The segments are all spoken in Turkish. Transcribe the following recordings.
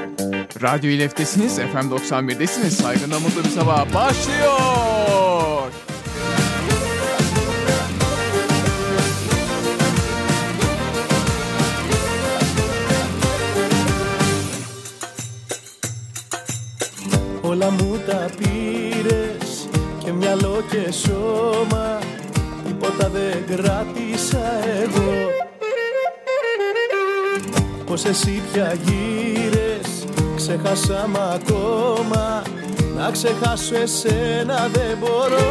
Radyo İLEF'tesiniz, FM 91'desiniz. Saygınla mutlu bir sabah başlıyor. Όλα μου τα πήρες και μυαλό και σώμα, τίποτα δεν κράτησα εγώ. Πως εσύ πια γύρες, ξέχασα μ' ακόμα, να ξεχάσω εσένα δεν μπορώ.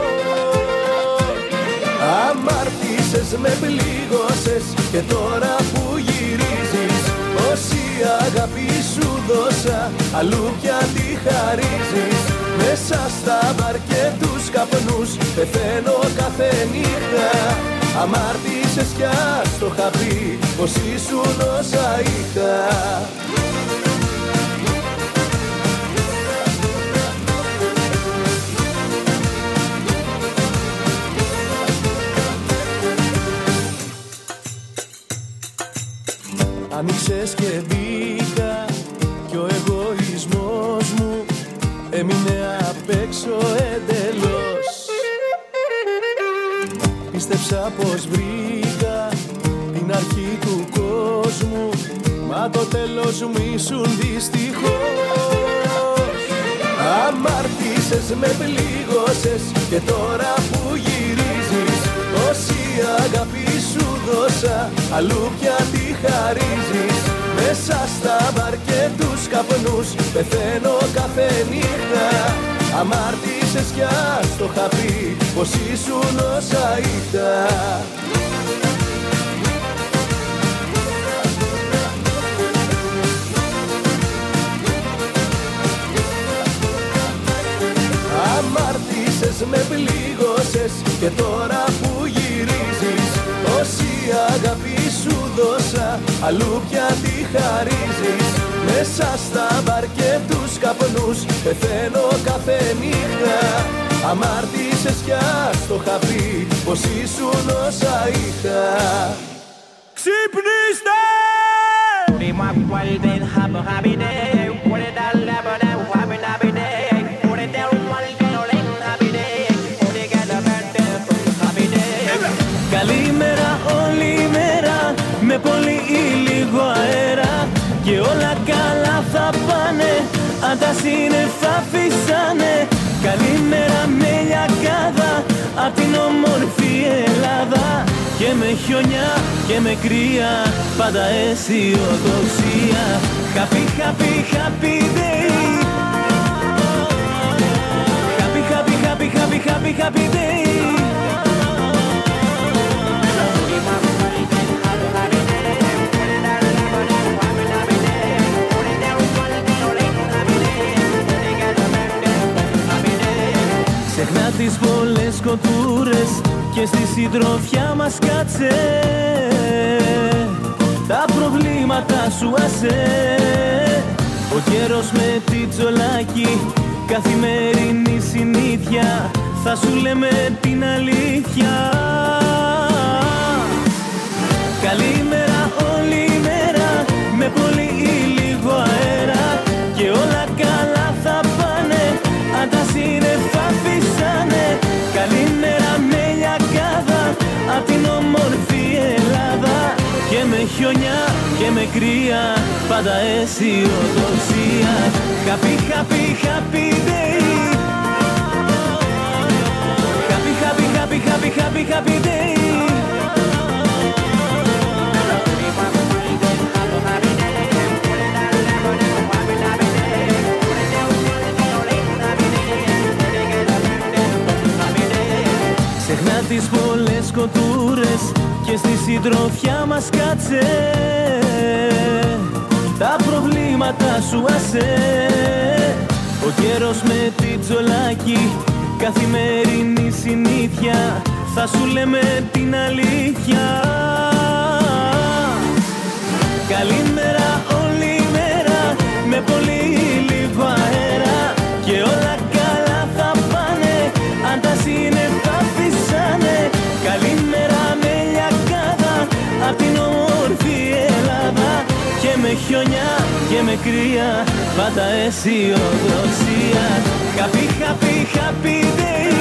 Αμάρτησες, με πλήγωσες και τώρα που γυρίζεις, όση αγάπη σου δώσα, αλλού πια τη χαρίζεις. Μέσα στα μπαρ και τους καπνούς πεθαίνω κάθε νύχτα. Αμάρτησες κι ας το είχα πει πως ήσουν όσα είχα. Άνοιξες και μπήκα κι ο εγωισμός μου έμεινε απ' έξω εντελώς. Πίστεψα πως βρήκα την αρχή του κόσμου, μα το τέλος μου ήσουν δυστυχώς. Αμάρτησες, με πλήγωσες και τώρα που γυρίζεις, όση αγάπη σου δώσα, αλλού πια τη χαρίζεις. Μέσα στα μπαρ και τους καπνούς πεθαίνω κάθε νύχτα. Αμάρτησες κι ας το είχα πει πως ήσουν όσα είχα. Αμάρτησες, με πλήγωσες και τώρα που γυρίζεις, όση αγάπη σου δώσα, αλλού πια τη χαρίζεις. Μέσα στα μπαρ και τους καπνούς πεθαίνω κάθε νύχτα. Αμάρτησες κι ας το είχα πει πως ήσουν όσα είχα. Ξυπνήστε! Καλημέρα όλη μέρα, με πολύ ή λίγο αέρα, και όλα καλά θα πάνε, αν τα σύννεφα φυσάνε. Καλημέρα με λιακάδα, απ' την όμορφη Ελλάδα, και με χιονιά και με κρύα, πάντα αισιοδοξία. Happy, happy, happy day. Happy, happy, happy, happy, happy, happy day. Ξεχνά τις πολλές κοτούρες και στη συντροφιά μας κάτσε, τα προβλήματα σου άσε. Ο καιρός με τη τζολάκι, καθημερινή συνήθεια, θα σου λέμε την αλήθεια. Καλημέρα όλη μέρα, με πολύ ή λίγο αέρα, και όλα καλά θα πάνε, αν τα σύννεφα φυσάνε. Καλημέρα με λιακάδα, απ' την όμορφη Ελλάδα, και με χιονιά και με κρύα, πάντα αισιοδοξία. Happy, happy, happy day. Happy, happy, happy, happy, happy, happy day. Ξεχνά τις πολλές κοτούρες και στη συντροφιά μας κάτσε, τα προβλήματα σου άσε. Ο καιρός με τη τζολάκι, καθημερινή συνήθεια, θα σου λέμε την αλήθεια. Καλημέρα όλη μέρα, με πολύ λίγο αέρα, και όλα καλά θα πάνε, αν τα σύννεφα φυσάνε. Καλημέρα με λιακάδα, απ' την όμορφη Ελλάδα, και με χιονιά και και με κρύα, πάντα αισιοδοξία. Happy, happy, happy day.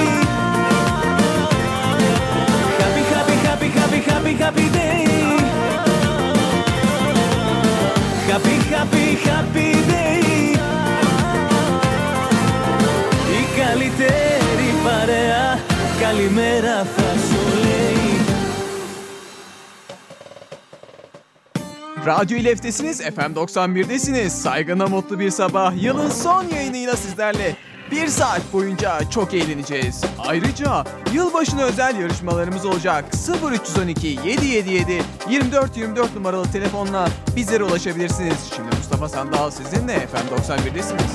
Happy, happy, happy, happy, happy, happy day. Happy, happy, happy day. Η καλύτερη παρέα, καλημέρα θα σου λέει. Radyo İleftesiniz, FM 91'desiniz. Saygına mutlu bir sabah. Yılın son yayınıyla sizlerle bir saat boyunca çok eğleneceğiz. Ayrıca yılbaşına özel yarışmalarımız olacak. 0312 777 2424 numaralı telefonla bizlere ulaşabilirsiniz. Şimdi Mustafa Sandal sizinle FM 91'desiniz.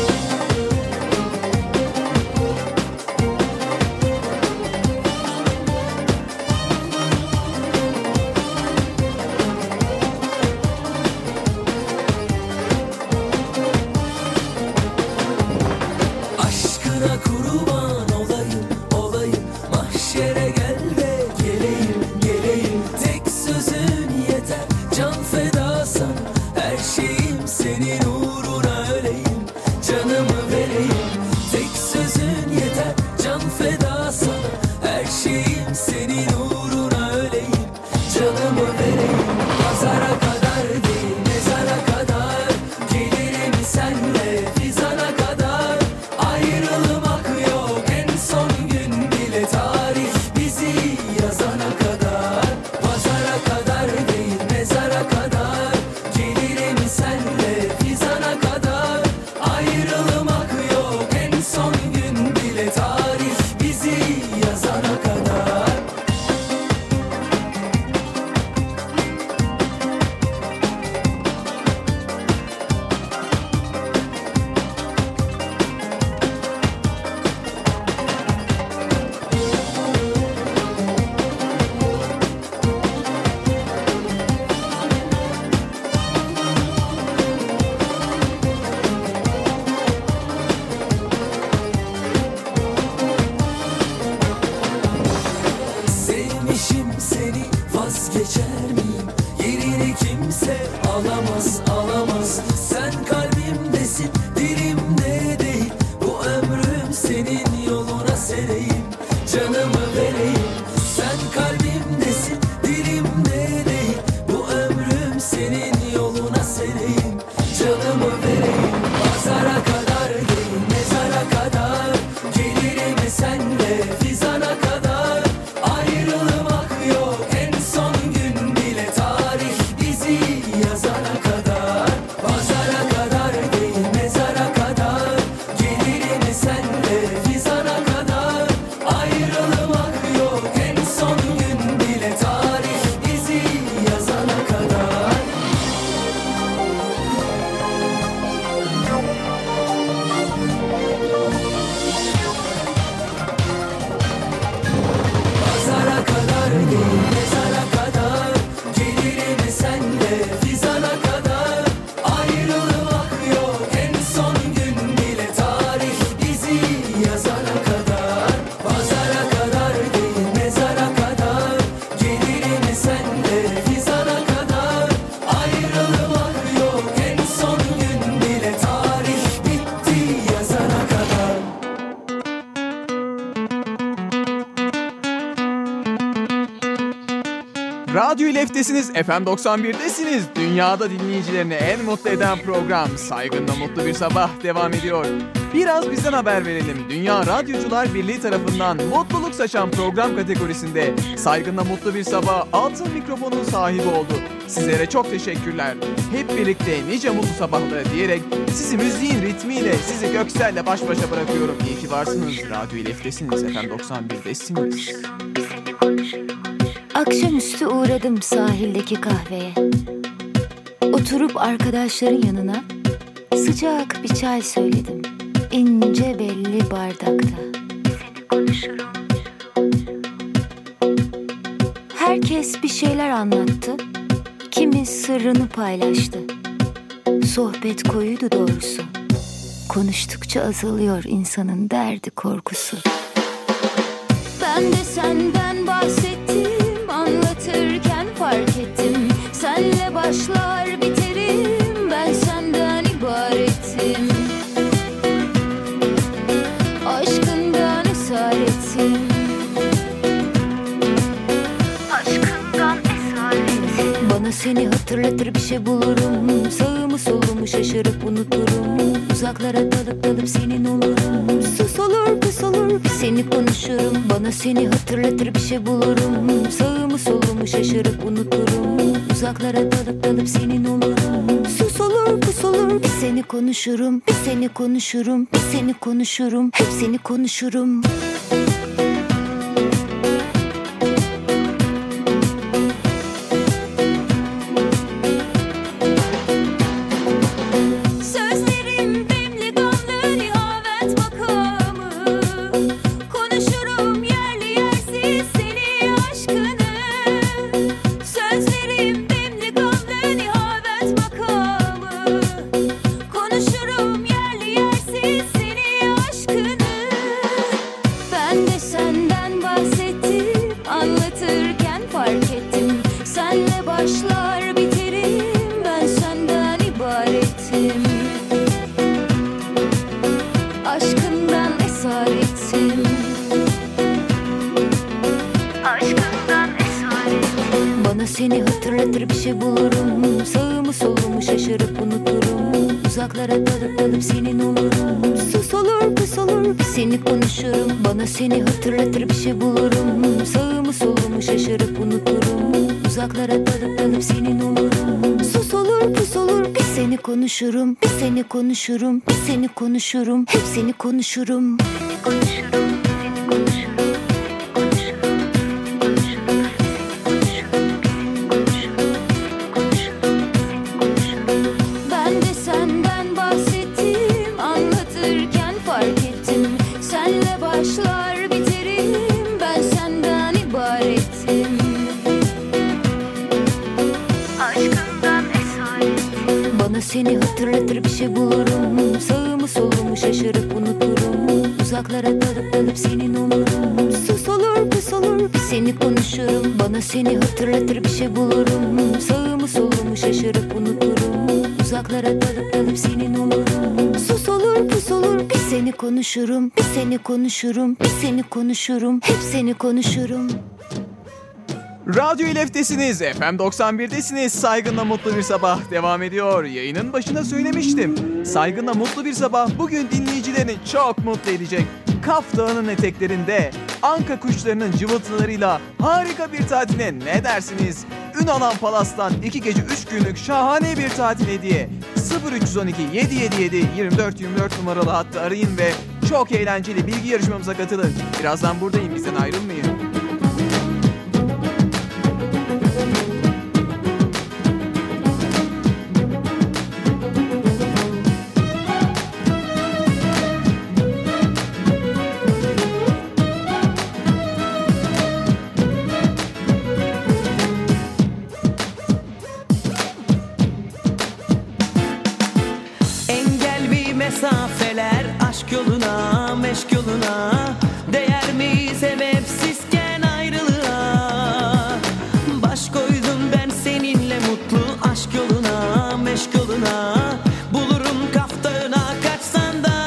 Radyo İleftesiniz, FM 91'desiniz. Dünyada dinleyicilerini en mutlu eden program Saygınla Mutlu Bir Sabah devam ediyor. Biraz bizden haber verelim. Dünya Radyocular Birliği tarafından mutluluk saçan program kategorisinde Saygınla Mutlu Bir Sabah altın mikrofonun sahibi oldu. Sizlere çok teşekkürler. Hep birlikte nice mutlu sabahlara diyerek sizi müziğin ritmiyle, sizi Göksel'le baş başa bırakıyorum. İyi ki varsınız. Radyo İleftesiniz, FM 91'desiniz. Akşamüstü uğradım sahildeki kahveye. Oturup arkadaşların yanına sıcak bir çay söyledim. İnce belli bardakta. Seni konuşurum. Herkes bir şeyler anlattı. Kimi sırrını paylaştı. Sohbet koyuydu doğrusu. Konuştukça azalıyor insanın derdi korkusu. Ben de senden bahsettim, anlatırken fark ettim. Senle başlar biterim, ben senden şey bulurum. Sağımı solumu şaşırıp unuturum. Uzaklara dalıp senin olurum. Sus olur pus olur seni konuşurum. Bana seni hatırlatır bir şey bulurum. Sağımı solumu şaşırıp unuturum. Uzaklara dalıp senin olurum. Sus olur pus olur seni konuşurum. Bir seni konuşurum, bir seni konuşurum. Hep seni konuşurum. Seni hatırlatır bir şey bulurum. Sağımı solumu şaşırıp unuturum. Uzaklara dalıp senin olurum. Sus olur pus olur seni konuşurum. Bana seni hatırlatır bir şey bulurum. Sağımı solumu şaşırıp unuturum. Uzaklara dalıp senin olurum. Sus olur pus olur seni konuşurum. Bir seni konuşurum, bir seni konuşurum. Hep seni konuşurum. Seni konuşurum. Seni hatırlatır bir şey bulurum. Sağımı solumu şaşırıp unuturum. Uzaklara dalıp senin olurum. Sus olur pus olur seni konuşurum. Bana seni hatırlatır bir şey bulurum. Sağımı solumu şaşırıp unuturum. Uzaklara dalıp senin olurum. Sus olur pus olur seni konuşurum. Bir seni konuşurum, bir seni konuşurum. Hep seni konuşurum. Radyo İLEF'tesiniz, FM 91'desiniz. Saygınla Mutlu Bir Sabah devam ediyor. Yayının başında söylemiştim. Saygınla Mutlu Bir Sabah bugün dinleyicilerini çok mutlu edecek. Kaf Dağı'nın eteklerinde anka kuşlarının cıvıltılarıyla harika bir tatile ne dersiniz? Ünalan Palas'tan 2 gece 3 günlük şahane bir tatil hediye. 0312 777 2424 numaralı hattı arayın ve çok eğlenceli bilgi yarışmamıza katılın. Birazdan buradayım, bizden ayrılmayın. Mesafeler aşk yoluna, meşk yoluna değer mi sebepsizken ayrılığa? Baş koydum ben seninle mutlu aşk yoluna, meşk yoluna. Bulurum Kaf Dağı'na kaçsan da.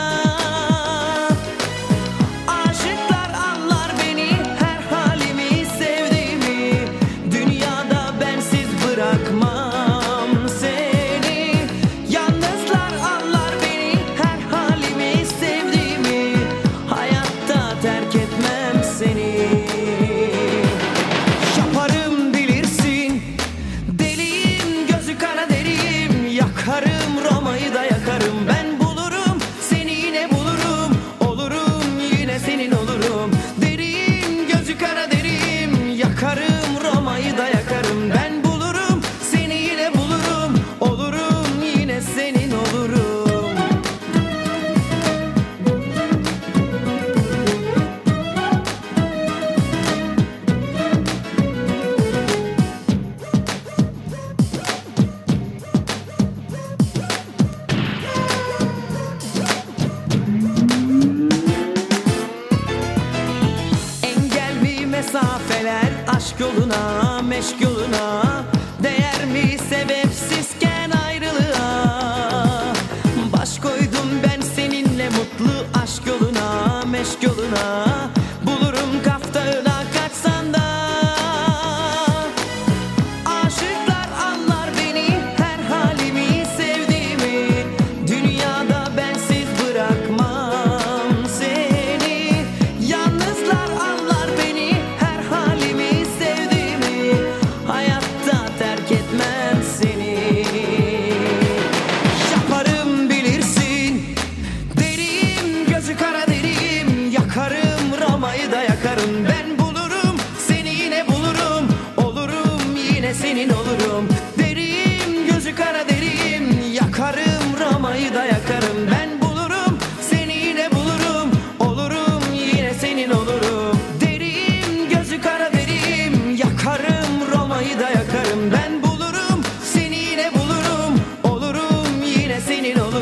Aşıklar anlar beni, her halimi sevdiğimi. Dünyada bensiz bırakmam. Sevdiğimi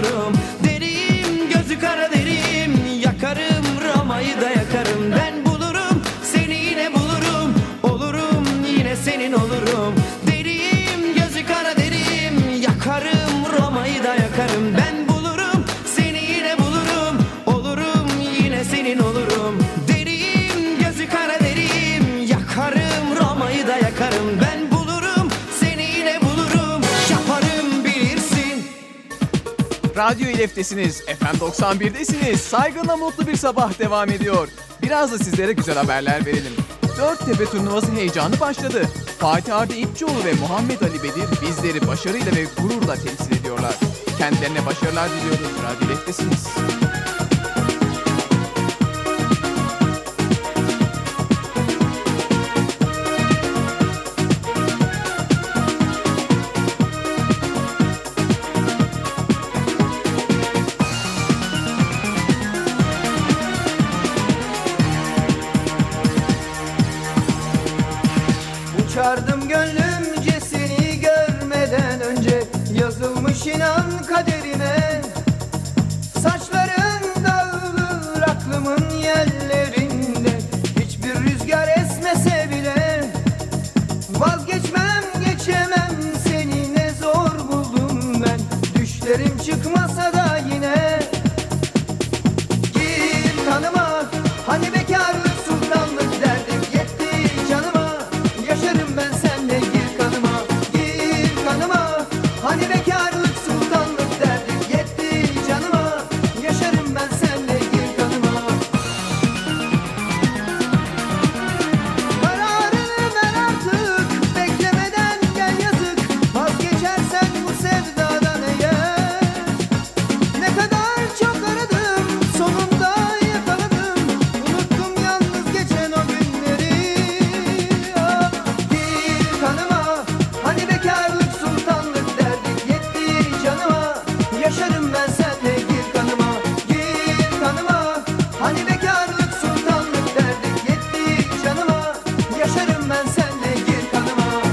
olurum. Deriyim, gözü kara deriyim, yakarım Roma'yı da yakarım. Ben bulurum, seni yine bulurum, olurum yine senin olurum. Deriyim, gözü kara deriyim, yakarım Roma'yı da yakarım. Ben bulurum, seni yine bulurum, olurum yine senin olurum. Deriyim, gözü kara deriyim, yakarım Roma'yı da yakarım. Ben bulurum, seni yine bulurum, yaparım bilirsin. Radyo İLEF'tesiniz, FM 91'desiniz. Saygınla mutlu bir sabah devam ediyor. Biraz da sizlere güzel haberler verelim. Dörttepe turnuvası heyecanı başladı. Fatih Arda İpçioğlu ve Muhammed Ali Bedir bizleri başarıyla ve gururla temsil ediyorlar. Kendilerine başarılar diliyoruz. Radyo İLEF'tesiniz. Uçardım gönlümce seni görmeden önce, yazılmış inan kaderime. Saçların dağılır aklımın yerlerinde, hiçbir rüzgar esmese bile vazgeçmem geçemem seni, ne zor buldum ben. Düşlerim çıkmasa da yine gir kanıma, hani bekarlık sultanlık derdik yetti canıma. Yaşarım ben senle, gir kanıma, gir kanıma. Hani bekarlık sultanlık derdik yetti canıma. Yaşarım ben senle, gir kanıma. Kararını ver artık, beklemeden gel yazık. Vazgeçersen bu sevdadan eğer, ne kadar çok aradım, sonunda yakaladım. Unuttum yalnız geçen o günleri. Ah, gir kanıma, hani bekarlık sultanlık derdik yetti canıma. Yaşarım ben senle, gir kanıma, gir kanıma. Hani bekarlık sultanlık derdik yetti canıma. Yaşarım ben senle, gir kanıma.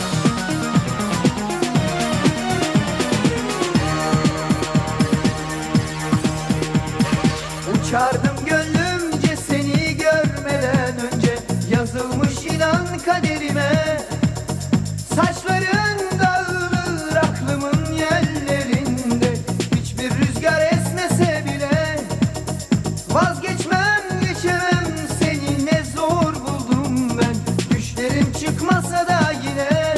Uçardım gönlümce seni görmeden önce, yazılmış inan kaderime. Saçların dağılır aklımın yerlerinde, hiçbir rüzgar esmese bile vazgeçmem geçemem seni, ne zor buldum ben. Düşlerim çıkmasa da yine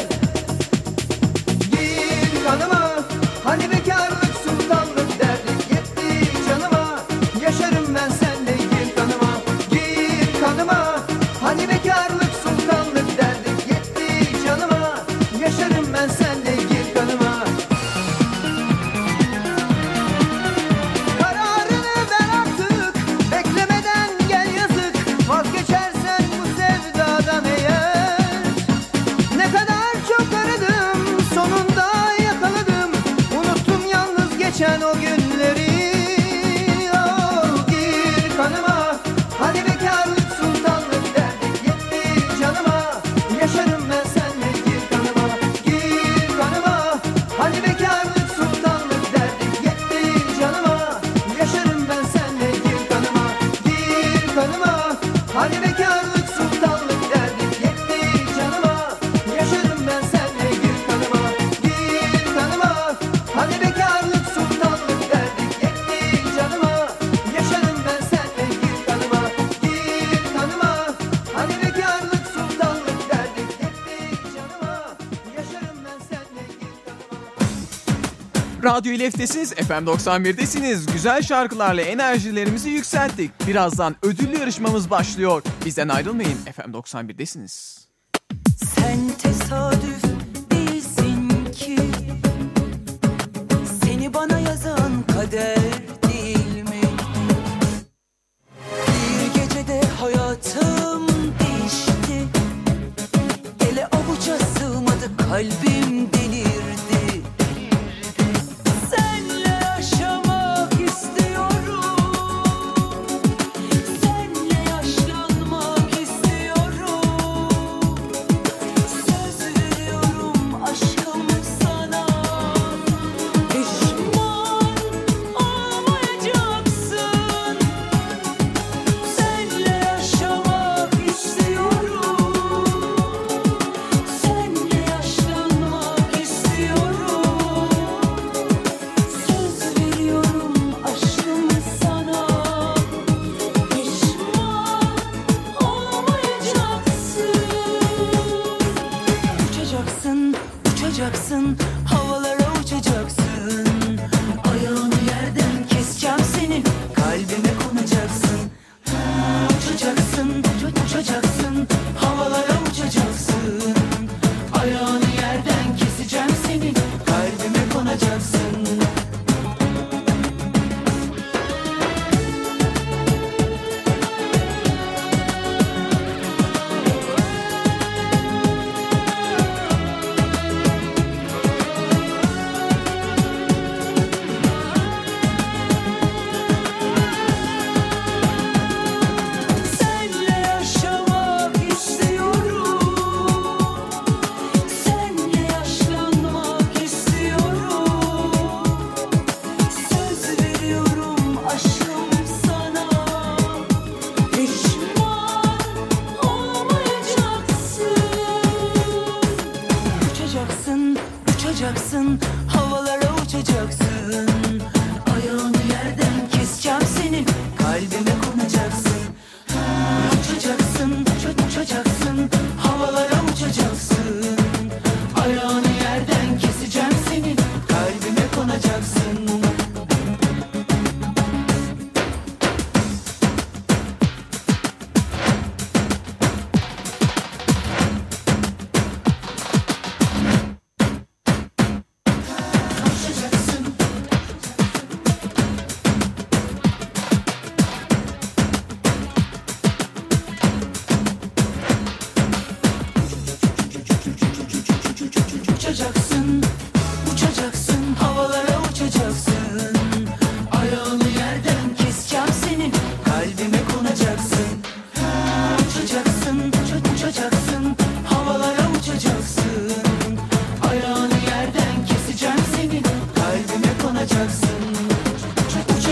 gir kanıma, hani bekarlık sultanlık derdik yetti canıma. Yaşarım ben senle, gir kanıma, gir kanıma. Hani bekarlık sultanlık derdik yetti canıma. Yaşarım ben senle, gir kanıma. Kararını ver artık, beklemeden gel yazık. Vazgeçersen bu sevdadan eğer, ne kadar çok aradım, sonunda yakaladım. Unuttum yalnız geçen o günleri. Oh, gir kanıma, hani bekarlık sultanlık derdik yetti canıma. Yaşarım ben senle, gir kanıma, gir kanıma. Hani bekarlık sultanlık derdik yetti canıma. Yaşarım ben senle, gir kanıma, gir kanıma. Hani bekarlık sultanlık derdik yetti canıma. Yaşarım ben senle, gir kanıma, gir kanıma. Hani bekarlık sultanlık derdik yetti canıma. Yaşarım ben senle, gir kanıma, gir kanıma. Hani bekarlık sultanlık derdik yetti canıma. Yaşarım ben senle, gir kanıma. Radyo İLEF'tesiniz, FM 91'desiniz. Güzel şarkılarla enerjilerimizi yükselttik. Birazdan ödüllü yarışmamız başlıyor. Bizden ayrılmayın, FM 91'desiniz. Sen tesadüf değilsin ki, seni bana yazan kader değil mi? Bir gecede hayatım değişti, ele avuca sığmadı, kalbim delirdi. Senle yaşamak istiyorum, senle yaşlanmak istiyorum. Söz veriyorum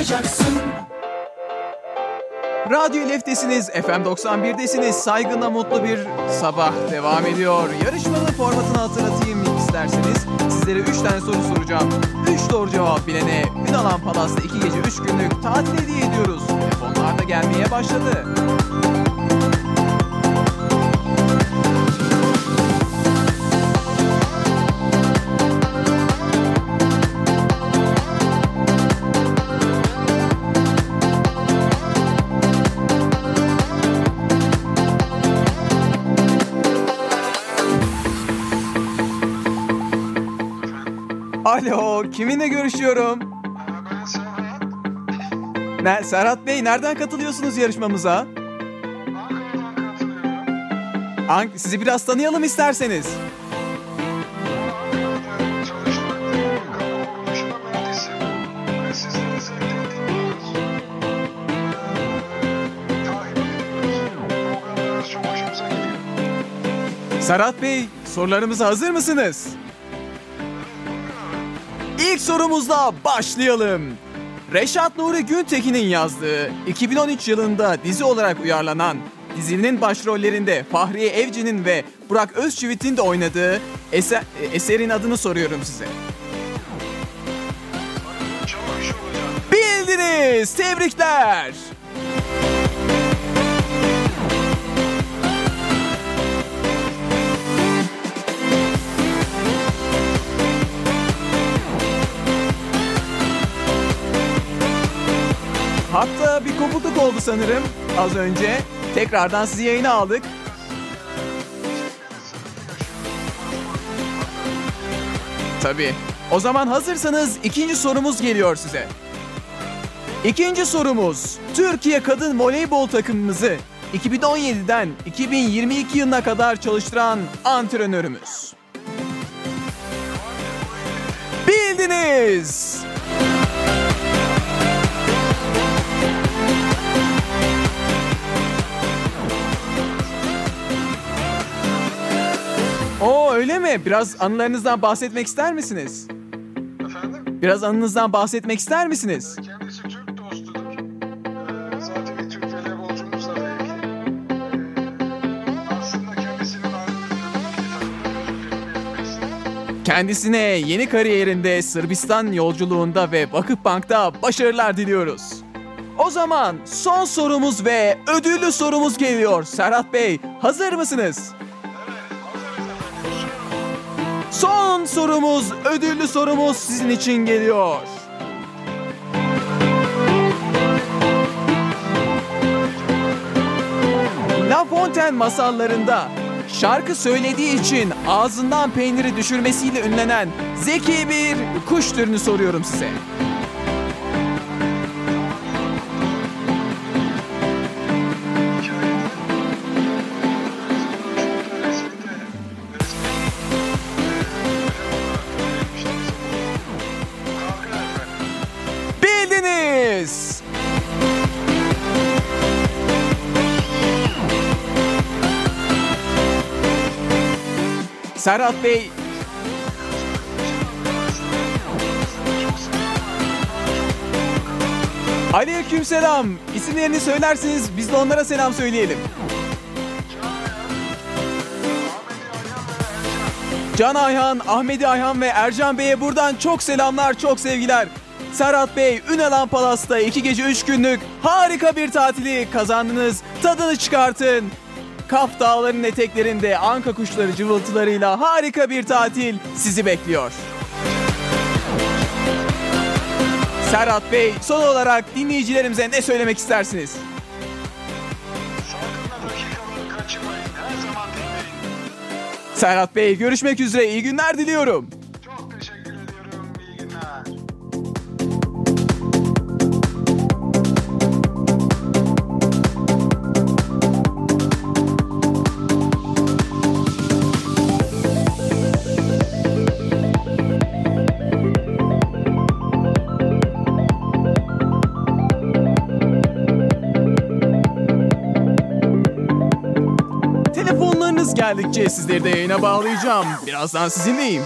yaşayacaksın. Radyo Leftesiniz, FM 91'desiniz. Saygınla mutlu bir sabah devam ediyor. Yarışmanın formatını hatırlatayım isterseniz. Sizlere 3 tane soru soracağım. 3 doğru cevap bilene Ünalan Palas'ta 2 gece 3 günlük tatil hediye ediyoruz. Telefonlar da gelmeye başladı. Alo, kiminle görüşüyorum? Ben Serhat. Serhat Bey, nereden katılıyorsunuz yarışmamıza? Ankara'dan katılıyorum. Sizi biraz tanıyalım isterseniz. Ankara'da çalıştığım bir kamu kuruluşuna mühendisim. Ve sizleri sevdiğim dinliyoruz. Takip ediyoruz. Programlarınız çok hoşumuza gidiyor. Serhat Bey, sorularımıza hazır mısınız? İlk sorumuzla başlayalım. Reşat Nuri Güntekin'in yazdığı 2013 yılında dizi olarak uyarlanan dizinin başrollerinde Fahriye Evcen'in ve Burak Özçivit'in de oynadığı eserin adını soruyorum size. Çok hoş olacak. Bildiniz! Tebrikler! Hatta bir kopukluk oldu sanırım az önce. Tekrardan sizi yayına aldık. Tabii. O zaman hazırsanız ikinci sorumuz geliyor size. İkinci sorumuz, Türkiye kadın voleybol takımımızı 2017'den 2022 yılına kadar çalıştıran antrenörümüz. Bildiniz! Oo, öyle mi? Biraz anılarınızdan bahsetmek ister misiniz? Efendim? Biraz anınızdan bahsetmek ister misiniz? Kendisi Türk dostudur. Zaten bir Türk voleybolcumuzla da ilgili. Aslında kendisinin Kendisine yeni kariyerinde Sırbistan yolculuğunda ve Vakıfbank'ta başarılar diliyoruz. O zaman son sorumuz ve ödüllü sorumuz geliyor. Serhat Bey, hazır mısınız? Son sorumuz, ödüllü sorumuz sizin için geliyor. La Fontaine masallarında şarkı söylediği için ağzından peyniri düşürmesiyle ünlenen zeki bir kuş türünü soruyorum size. Bildiniz! Serhat Bey, aleykümselam. İsimlerini söylerseniz biz de onlara selam söyleyelim. Can Ayhan, Ahmedi Ayhan ve Ercan Bey'e buradan çok selamlar, çok sevgiler. Serhat Bey, Ünalan Palas'ta 2 gece 3 günlük harika bir tatili kazandınız. Tadını çıkartın. Kaf Dağları'nın eteklerinde anka kuşları cıvıltılarıyla harika bir tatil sizi bekliyor. Serhat Bey, son olarak dinleyicilerimize ne söylemek istersiniz? Salgınla dakikaları kaçırmayın. Her zaman dinleyin. Serhat Bey, görüşmek üzere. İyi günler diliyorum. Çok teşekkür ediyorum. İyi günler. Telefonlarınız geldikçe sizleri de yayına bağlayacağım. Birazdan sizinleyim.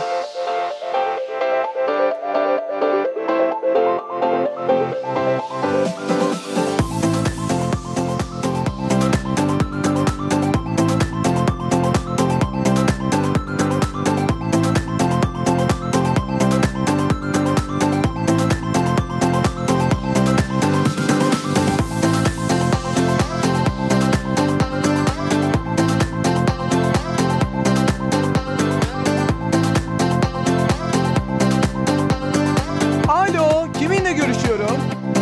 ediyorum.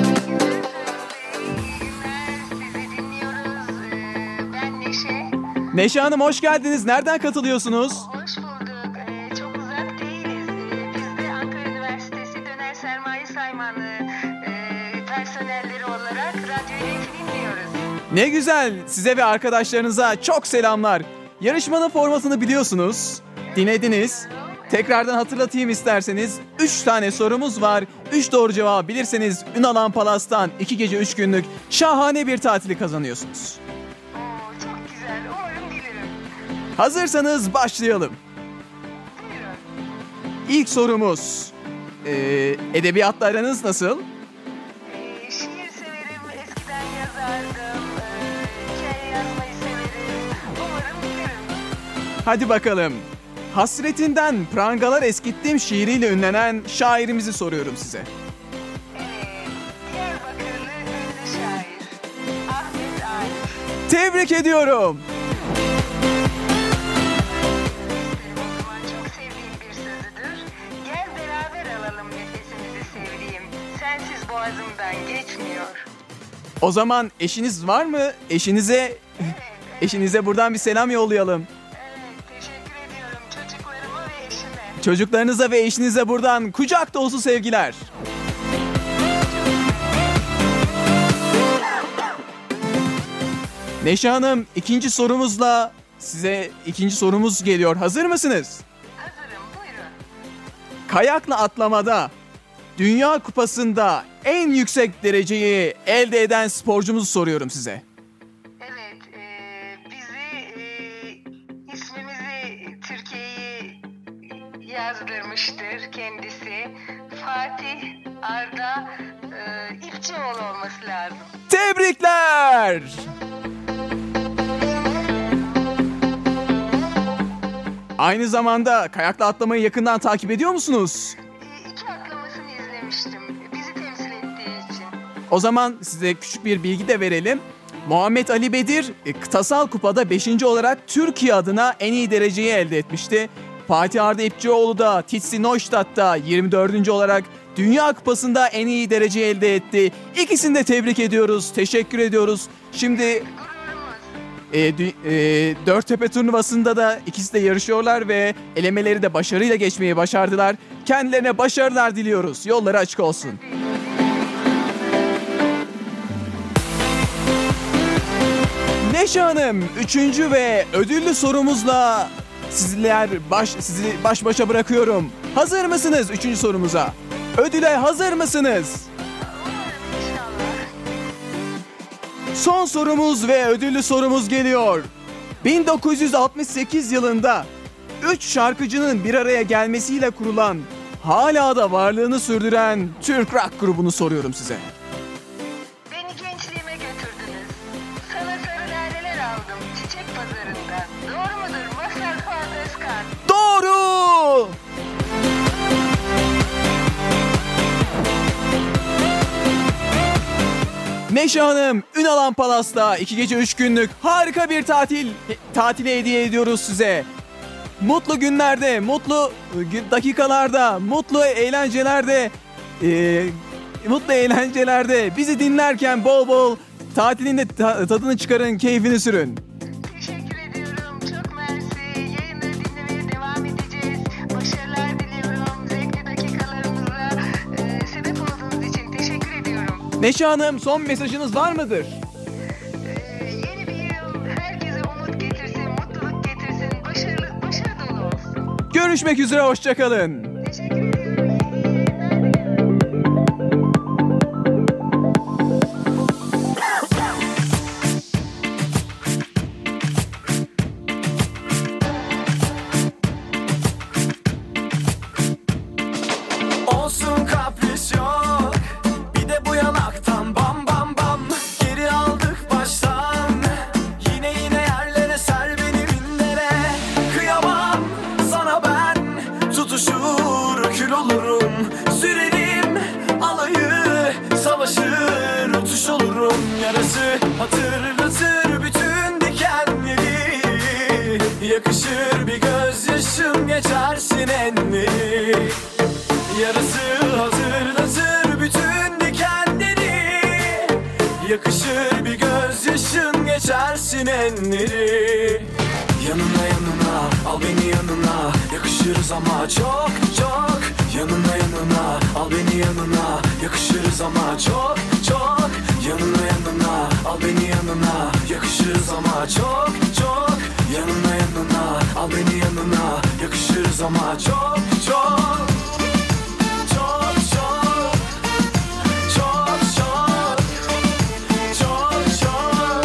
Sizi dinliyoruz. Ben Neşe. Neşe Hanım hoş geldiniz. Nereden katılıyorsunuz? Hoş bulduk. Çok uzak değiliz. Biz de Ankara Üniversitesi Döner Sermaye Saymanlığı personelleri olarak radyoyu dinliyoruz. Ne güzel. Size ve arkadaşlarınıza çok selamlar. Yarışmanın formatını biliyorsunuz. Dinlediniz. Tekrardan hatırlatayım isterseniz. 3 tane sorumuz var. 3 doğru cevabı bilirseniz Ünalan Palas'tan 2 gece 3 günlük şahane bir tatili kazanıyorsunuz. Çok güzel. Umarım bilirim. Hazırsanız başlayalım. Buyurun. İlk sorumuz. Edebiyatla aranız nasıl? Şiir severim. Eskiden yazardım. Hikaye yazmayı severim. Umarım bilirim. Hadi bakalım. Hasretinden prangalar eskittim şiiriyle ünlenen şairimizi soruyorum size. Diyarbakırlı ünlü şair Ahmet Arif. Tebrik ediyorum. O zaman çok sevdiğim bir sözüdür. Gel beraber alalım nefesimizi sevdiğim. Sensiz boğazımdan geçmiyor. O zaman eşiniz var mı? Eşinize buradan bir selam yollayalım. Evet, teşekkür ediyorum çocuklarıma ve eşime. Çocuklarınıza ve eşinize buradan kucak dolusu sevgiler. Neşe Hanım, ikinci sorumuzla size ikinci sorumuz geliyor. Hazır mısınız? Hazırım, buyurun. Kayakla atlamada Dünya Kupası'nda en yüksek dereceyi elde eden sporcumuzu soruyorum size. Evet, ismimizi Türkiye'yi yazdırmıştır kendisi. Fatih Arda İpçioğlu olması lazım. Tebrikler! Aynı zamanda kayakla atlamayı yakından takip ediyor musunuz? İki atlamasını izlemiştim. Bizi temsil ettiği için. O zaman size küçük bir bilgi de verelim. Muhammed Ali Bedir kıtasal kupada 5. olarak Türkiye adına en iyi dereceyi elde etmişti. Fatih Arda İpçioğlu da Titsi Neustadt'ta 24. olarak Dünya Kupası'nda en iyi dereceyi elde etti. İkisini de tebrik ediyoruz, teşekkür ediyoruz. Şimdi Dörttepe turnuvasında da ikisi de yarışıyorlar ve elemeleri de başarıyla geçmeyi başardılar. Kendilerine başarılar diliyoruz. Yolları açık olsun. Neşe Hanım, 3. ve ödüllü sorumuzla sizi baş başa bırakıyorum. Hazır mısınız 3. sorumuza? Ödüle hazır mısınız? Son sorumuz ve ödüllü sorumuz geliyor. 1968 yılında 3 şarkıcının bir araya gelmesiyle kurulan, hala da varlığını sürdüren Türk rock grubunu soruyorum size. Beni gençliğime götürdünüz. Sana sarı laleler aldım çiçek pazarından. Doğru mudur Mazhar Fuat Özkan? Doğru! Neşe Hanım, Ünalan Palas'ta 2 gece 3 günlük harika bir tatili hediye ediyoruz size. Mutlu günlerde, mutlu dakikalarda, mutlu eğlencelerde bizi dinlerken bol bol tatilin de tadını çıkarın, keyfini sürün. Teşekkür ediyorum. Çok mersi. Yayınları dinlemeye devam edeceğiz. Başarılar diliyorum. Zevkli dakikalarımıza sebep olduğunuz için teşekkür ediyorum. Neşe Hanım, son mesajınız var mıdır? Yeni bir yıl herkese umut getirsin, mutluluk getirsin, başarı dolu olsun. Görüşmek üzere, hoşçakalın. Teşekkür ediyorum. Olsun kapris yok, bir de bu yanaktan bam bam bam. Geri aldık baştan, yine yerlere ser beni binlere. Kıyamam sana ben, tutuşur kül olurum. Sürerim alayı, savaşır uçuş olurum. Yarası hatırlatır bütün dikenleri, yakışır bir gözyaşım geçersin enleri. Yarısı hatırlatır bütün diken Yakışır bir gözyaşın, geçersin enleri. Yanına yanına, al beni yanına, yakışırız ama çok çok. Yanına yanına, al beni yanına, yakışırız ama çok çok. Yanına yanına, al beni yanına, yakışırız ama çok çok. Yanına yanına, al beni yanına, yakışırız ama çok çok. Çok çok. Çok çok. Çok çok.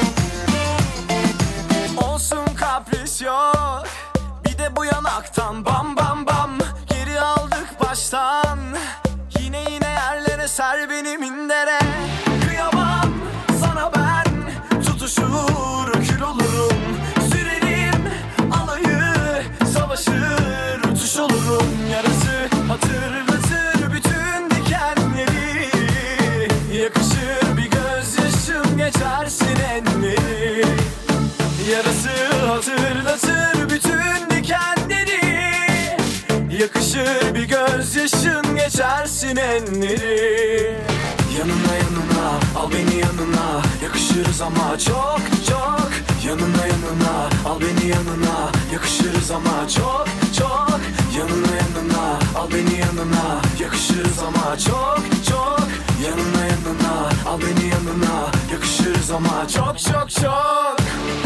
Olsun kapris yok, bir de bu yanaktan bam bam bam. Geri aldık baştan, yine yerlere ser beni mindere. Kıyamam sana ben, tutuşur kül olurum. Sürerim alayı, savaşır uçuş olurum. Yarası hatırlatır bütün dikenleri. Yakışır bir gözyaşım, geçersin enleri. Yarası hatırlatır bütün dikenleri. Yakışır bir gözyaşın, geçersin enleri. Yanına yanına, al beni yanına, yakışırız ama çok çok. Yanına yanına, al beni yanına, yakışırız ama çok çok. Yanına yanına, al beni yanına, yakışırız ama çok çok. Yanına yanına, al beni yanına, yakışırız ama çok çok çok.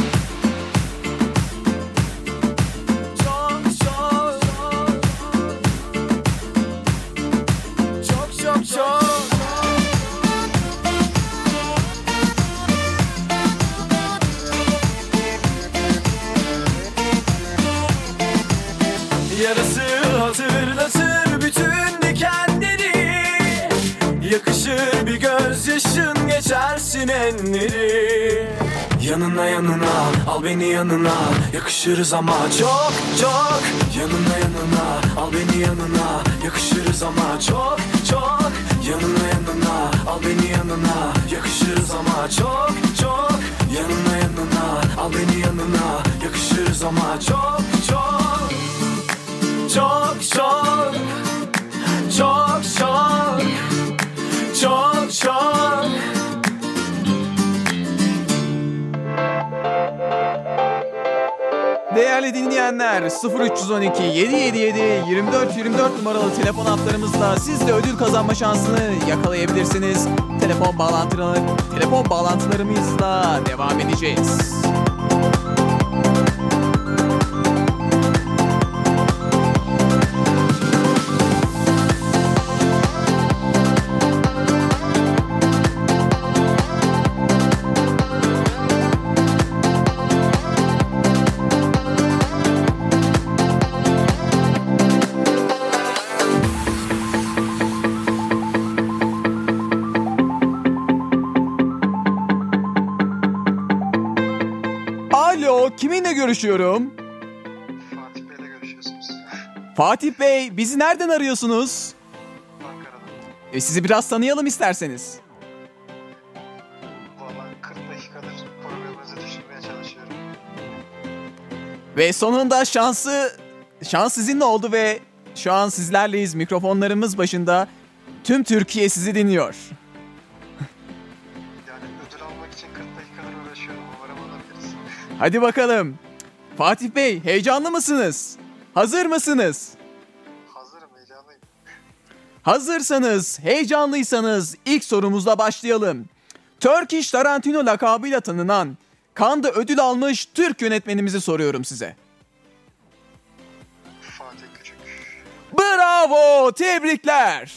Çok çok. Çok çok çok. Yarası hatırlatır bütün dikenleri. Yakışır bir gözyaşın, geçersin enleri. Yanına yanına, al beni yanına, yakışırız ama çok çok. Yanına yanına, al beni yanına, yakışırız ama çok çok. Yanına yanına, al beni yanına, yakışırız ama çok çok. Yanına yanına, al beni yanına, yakışırız ama çok çok. Çok çok. Çok çok. Çok çok. Değerli dinleyenler, 0312 777 2424 numaralı telefon hatlarımızla siz de ödül kazanma şansını yakalayabilirsiniz. Telefon bağlantılarımızla devam edeceğiz. Alo, kiminle görüşüyorum? Fatih Bey'le görüşüyorsunuz. Fatih Bey, bizi nereden arıyorsunuz? Ankara'dan. Sizi biraz tanıyalım isterseniz. Valla 40 dakikadır programınızı düşünmeye çalışıyorum. Ve sonunda şans sizinle oldu ve şu an sizlerleyiz, mikrofonlarımız başında. Tüm Türkiye sizi dinliyor. Yani ödül almak için 40 dakikadır uğraşıyorum. Umarım alabiliriz. Hadi bakalım. Fatih Bey, heyecanlı mısınız? Hazır mısınız? Hazırım, heyecanlıyım. Hazırsanız, heyecanlıysanız ilk sorumuzla başlayalım. Turkish Tarantino lakabıyla tanınan, Cannes'da ödül almış Türk yönetmenimizi soruyorum size. Fatih Küçük. Bravo, tebrikler.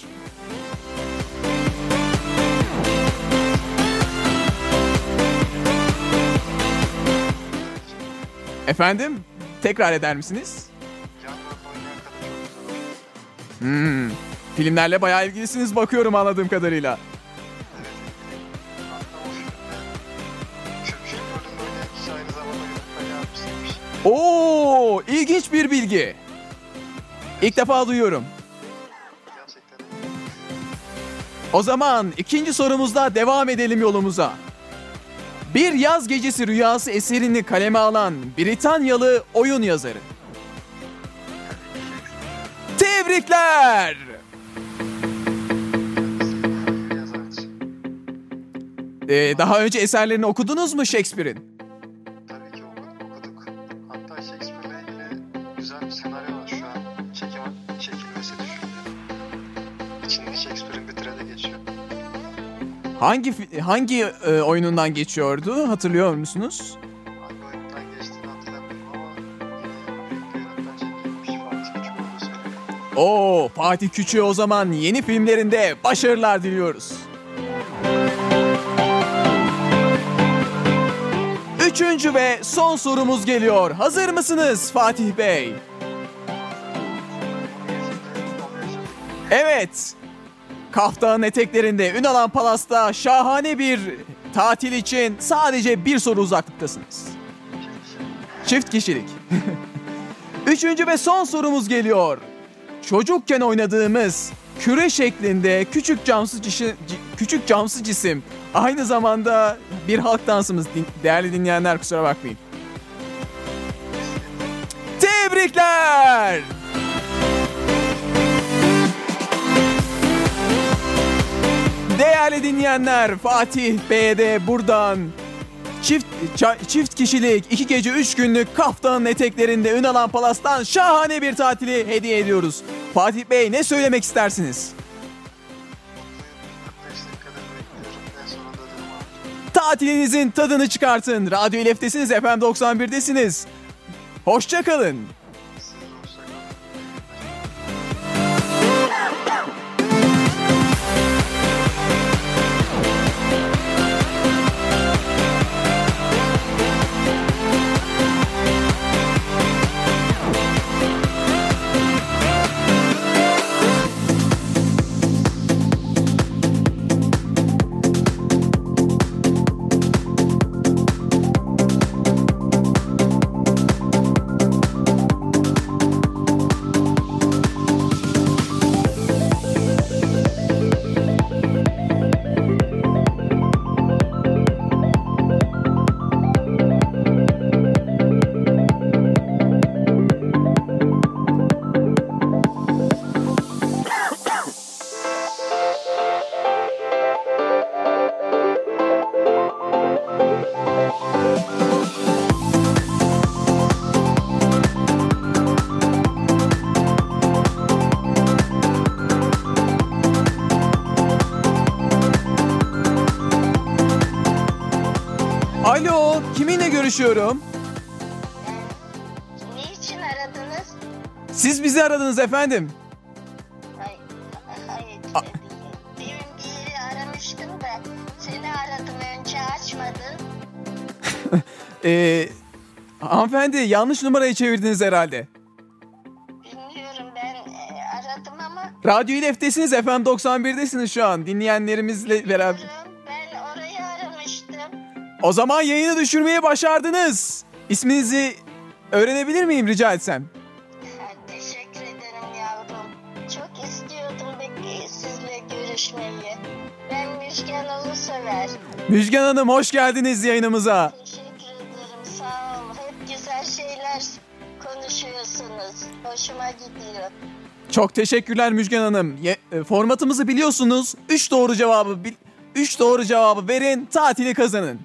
Efendim, tekrar eder misiniz? Yan rol oynayan kadın çok güzel oynuyor. Filmlerle bayağı ilgilisiniz bakıyorum anladığım kadarıyla. Evet. Hatta o filmde Türk rolünde oynayan kişi aynı zamanda yönetmen yardımcısıymış. Oo, ilginç bir bilgi. İlk defa duyuyorum. Gerçekten iyi. O zaman ikinci sorumuzla devam edelim yolumuza. Bir Yaz Gecesi Rüyası eserini kaleme alan Britanyalı oyun yazarı. Tebrikler! Daha önce eserlerini okudunuz mu Shakespeare'in? Tabii ki okuduk. Hatta Shakespeare'le ilgili güzel bir senaryo var şu an. Çekilmesi düşünülüyor. İçinde Shakespeare'in bir trade geçiyor. Hangi oyunundan geçiyordu? Hatırlıyor musunuz? Hangi oyundan geçtiğini hatırlamıyorum ama büyük bir yönetmen çekilmiş. Fatih Küçük olduğu söyleniyor. Oo, Fatih Küçük'e o zaman yeni filmlerinde başarılar diliyoruz. Üçüncü ve son sorumuz geliyor. Hazır mısınız Fatih Bey? Evet. Kaf Dağı'nın eteklerinde Ünalan Palas'ta şahane bir tatil için sadece bir soru uzaklıktasınız. Çift kişilik. Üçüncü ve son sorumuz geliyor. Çocukken oynadığımız küre şeklinde küçük camsız cisim aynı zamanda bir halk dansımız. Değerli dinleyenler kusura bakmayın. Tebrikler! Değerli dinleyenler, Fatih Bey'e de buradan çift kişilik 2 gece 3 günlük Kaf Dağı'nın eteklerinde Ünalan Palas'tan şahane bir tatili hediye ediyoruz. Fatih Bey ne söylemek istersiniz? 45 dakikadır bekliyorum. En sonunda ödülümü aldım. Tatilinizin tadını çıkartın. Radyo İLEF'tesiniz, FM 91'desiniz. Hoşça kalın. Siz de hoşça kalın. Alo, kiminle görüşüyorum? Niçin aradınız? Siz bizi aradınız efendim. Hayır, demin bir yeri aramıştım da seni aradım önce açmadın. Hanımefendi yanlış numarayı çevirdiniz herhalde. Bilmiyorum ben aradım ama Radyo İLEF'tesiniz, FM 91'desiniz şu an. Dinleyenlerimizle beraber. ben orayı aramıştım. O zaman yayını düşürmeyi başardınız. İsminizi öğrenebilir miyim rica etsem? Teşekkür ederim yavrum. Çok istiyordum sizle görüşmeyi. Ben Müjgan Ulusever. Müjgan Hanım hoş geldiniz yayınımıza. Teşekkür ederim, sağ ol. Hep güzel şeyler konuşuyorsunuz. Hoşuma gidiyor. Çok teşekkürler Müjgan Hanım. Formatımızı biliyorsunuz. 3 doğru cevabı verin, tatili kazanın.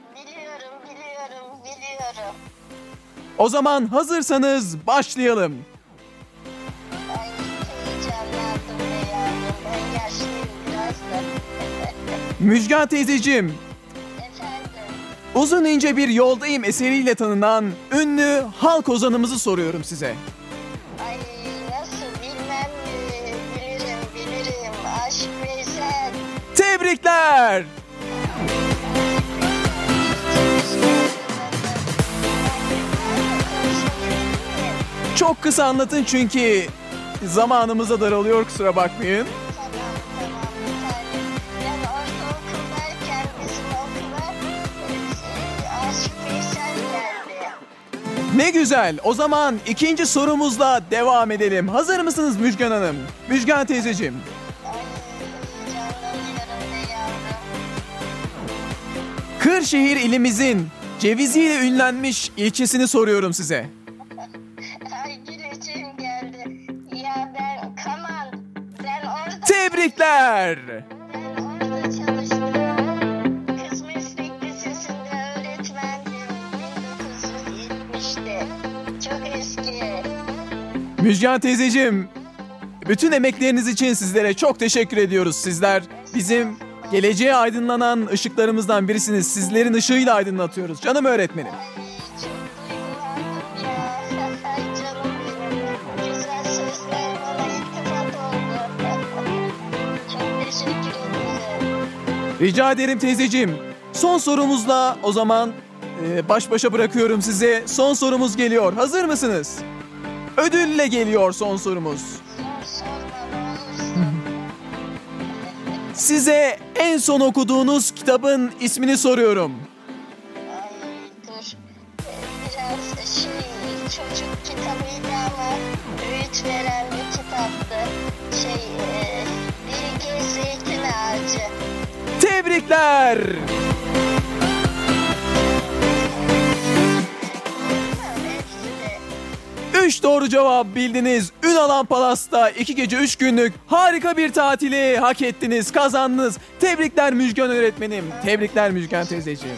Biliyorum. O zaman hazırsanız başlayalım. Ay heyecanlandım be yavrum. Ben yaşlıyım biraz da. Müjgan teyzeciğim, Efendim, Uzun ince bir yoldayım eseriyle tanınan ünlü halk ozanımızı soruyorum size. ay nasıl bilmem mi? Bilirim. Aşk Veysel. Tebrikler! Çok kısa anlatın çünkü zamanımıza daralıyor, kusura bakmayın. Tamam bir tane. Ben ortaokuldayken bizim okula Aşk Veysel geldi. Ne güzel. O zaman ikinci sorumuzla devam edelim. Hazır mısınız Müjgan Hanım? Müjgan teyzeciğim. Ay heyecanlanıyorum be yavrum. Kırşehir ilimizin ceviziyle ünlenmiş ilçesini soruyorum size. Ay güleceğim geldi. Ya ben Kaman. Ben orada Tebrikler! çalıştım. Kız Müjgan teyzeciğim, bütün emekleriniz için sizlere çok teşekkür ediyoruz. Sizler bizim geleceğe aydınlanan ışıklarımızdan birisiniz. Sizlerin ışığıyla aydınlatıyoruz. Canım öğretmenim. Rica ederim teyzeciğim. Son sorumuzla o zaman baş başa bırakıyorum size. Son sorumuz geliyor. Hazır mısınız? Ödülle geliyor son sorumuz. Size en son okuduğunuz kitabın ismini soruyorum. Dur. Biraz çocuk kitabıydı ama öğüt veren bir kitaptı. Bilge Zeytin Ağacı. Tebrikler. 3 doğru cevap bildiniz. Ünalan Palas'ta 2 gece 3 günlük harika bir tatili hak ettiniz, kazandınız. Tebrikler Müjgan öğretmenim. Tebrikler Müjgan teyzeciğim.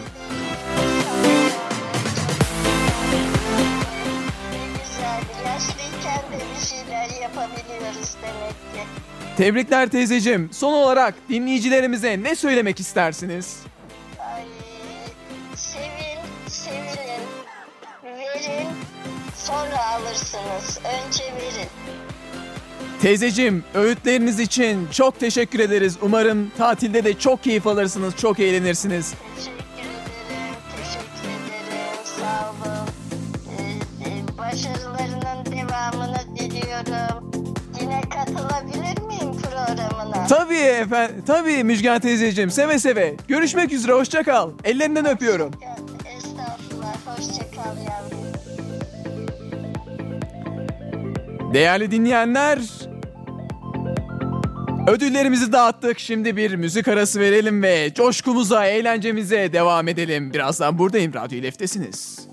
Güzel. Yaşlıyken de bir şeyler yapabiliyoruz demek ki. Tebrikler teyzeciğim. Son olarak dinleyicilerimize ne söylemek istersiniz? Ay, sevilin, verin, sonra alırsınız. Önce verin. Teyzeciğim, öğütleriniz için çok teşekkür ederiz. Umarım tatilde de çok keyif alırsınız, çok eğlenirsiniz. Teşekkür ederim. Sağ olun. Başarılarının devamını diliyorum. Yine katılabilir miyim programına? Tabii efendim, tabii Müjgan teyzeciğim, seve seve. Görüşmek üzere, hoşça kal. Ellerinden öpüyorum. Estağfurullah, hoşça kal yavrum. Değerli dinleyenler, ödüllerimizi dağıttık. Şimdi bir müzik arası verelim ve coşkumuza, eğlencemize devam edelim. Birazdan buradayım, Radyo İLEF'tesiniz.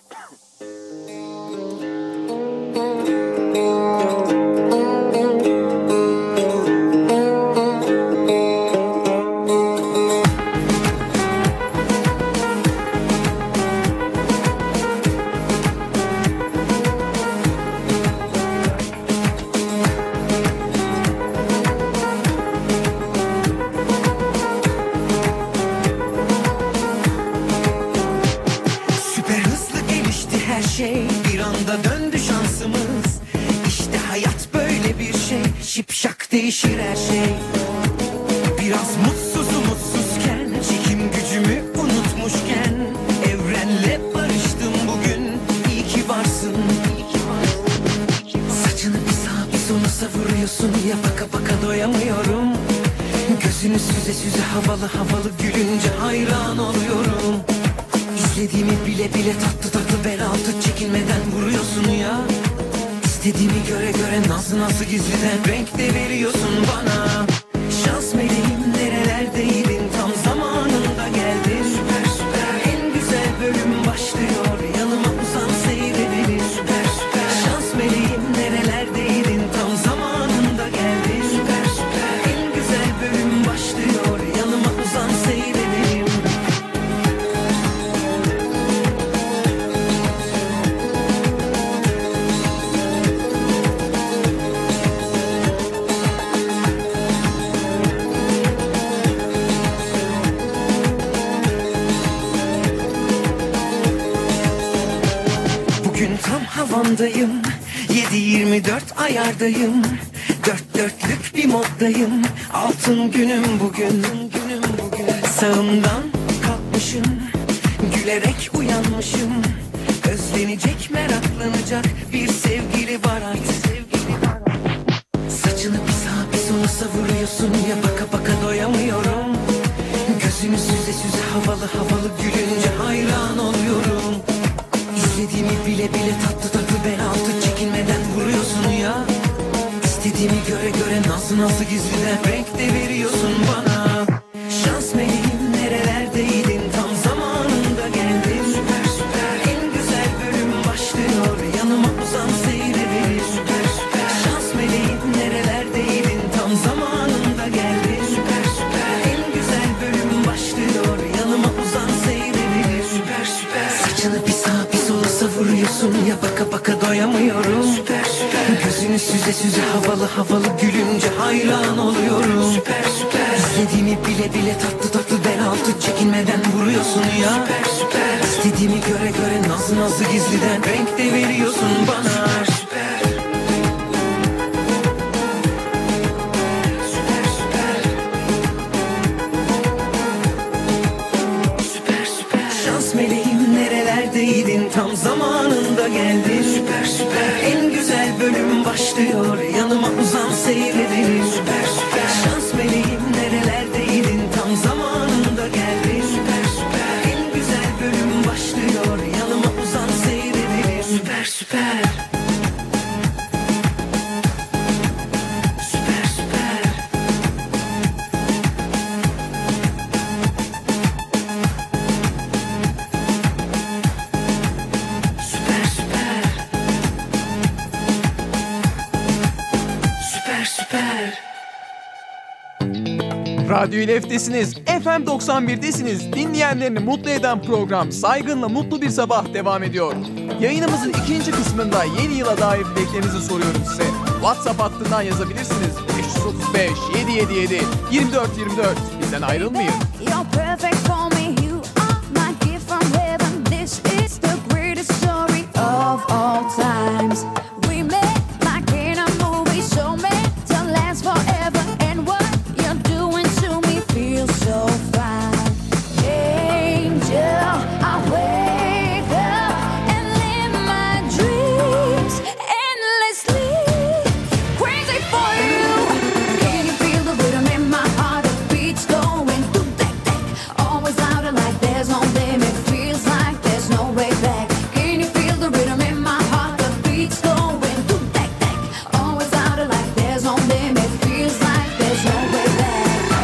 Şipşak değişir her şey. Biraz mutsuzken, çekim gücümü unutmuşken, evrenle barıştım bugün. İyi ki varsın. Saçını bir sağa bir sola savuruyorsun ya, baka baka doyamıyorum. Gözünü süze süze havalı havalı gülünce hayran oluyorum. İzlediğimi bile bile tatlı tatlı bel altı çekilmeden vuruyorsun ya. İstediğimi göre göre nasıl gizliden renk de veriyorsun bana. Şans meleğim nerelerdeydin, tam zamanında geldin. Süper süper, en güzel bölüm başlıyor, yanıma uzan seyredelim. Süper süper, şans meleğim nerelerdeydin, tam zamanında geldin. Süper süper, en güzel bölüm başlıyor, yanıma uzan seyredelim. Havamdayım, 7/24 ayardayım. Dört dörtlük bir moddayım. Altın günüm bugün. Sağımdan kalkmışım, gülerek uyanmışım. Özlenecek, meraklanacak bir sevgili var artık. Saçını bir sağa bir sola savuruyorsun ya, baka baka doyamıyorum. Gözünü süze süze havalı havalı gülünce hayran oluyorum. İstediğimi bile bile tatlı tatlı bel altı çekilmeden vuruyorsun ya. İstediğimi göre göre nasıl gizliden renk de veriyorsun bana. Şans meleğim nerelerdeydin, tam zamanında geldin. Süper süper, en güzel bölüm başlıyor, yanıma uzan seyredelim. Süper süper, şans meleğim nerelerdeydin, tam zamanında geldin. Süper süper, en güzel bölüm başlıyor, yanıma uzan seyredelim. Süper süper, saçını bir sağa bir sola savuruyorsun ya, baka baka doyamıyorum. Süper süper, süze süze havalı havalı gülünce hayran oluyorum. Süper süper. İstediğimi bile bile tatlı tatlı bel altı çekinmeden vuruyorsun ya. Süper süper. İstediğimi göre göre nazlı nazlı gizliden renk de veriyorsun bana. Süper. Süper süper. Süper süper. Şans meleğim nerelerdeydin, tam zamanında geldin. Süper süper. En güzel bölüm başlıyor, yanıma uzan seyredelim. Süper süper. Şans meleğim nerelerdeydin, tam zamanında geldin. Süper süper. En güzel bölüm başlıyor, yanıma uzan seyredelim. Süper süper. Süper süper. Süper süper. Süper süper. Radyo İLEF'tesiniz, FM 91'desiniz. Dinleyenlerini mutlu eden program Saygınla Mutlu Bir Sabah devam ediyor. Yayınımızın ikinci kısmında yeni yıla dair dileklerinizi soruyorum size. WhatsApp hattından yazabilirsiniz. 535 777 24 24. Bizden ayrılmayın. You're perfect for me, you are my gift from heaven. This is the greatest story of all times. We met like in a movie, so meant to last forever. And what you're doing to me feels so fine. Angel, I wake up and live my dreams endlessly. Crazy for you. Can you feel the rhythm in my heart? The beats going through that. Always out of like there's no limit. Feels like there's no way back. Can you feel the rhythm in my heart? The beats going through that. Always out of like there's no limit. Feels like there's no way back.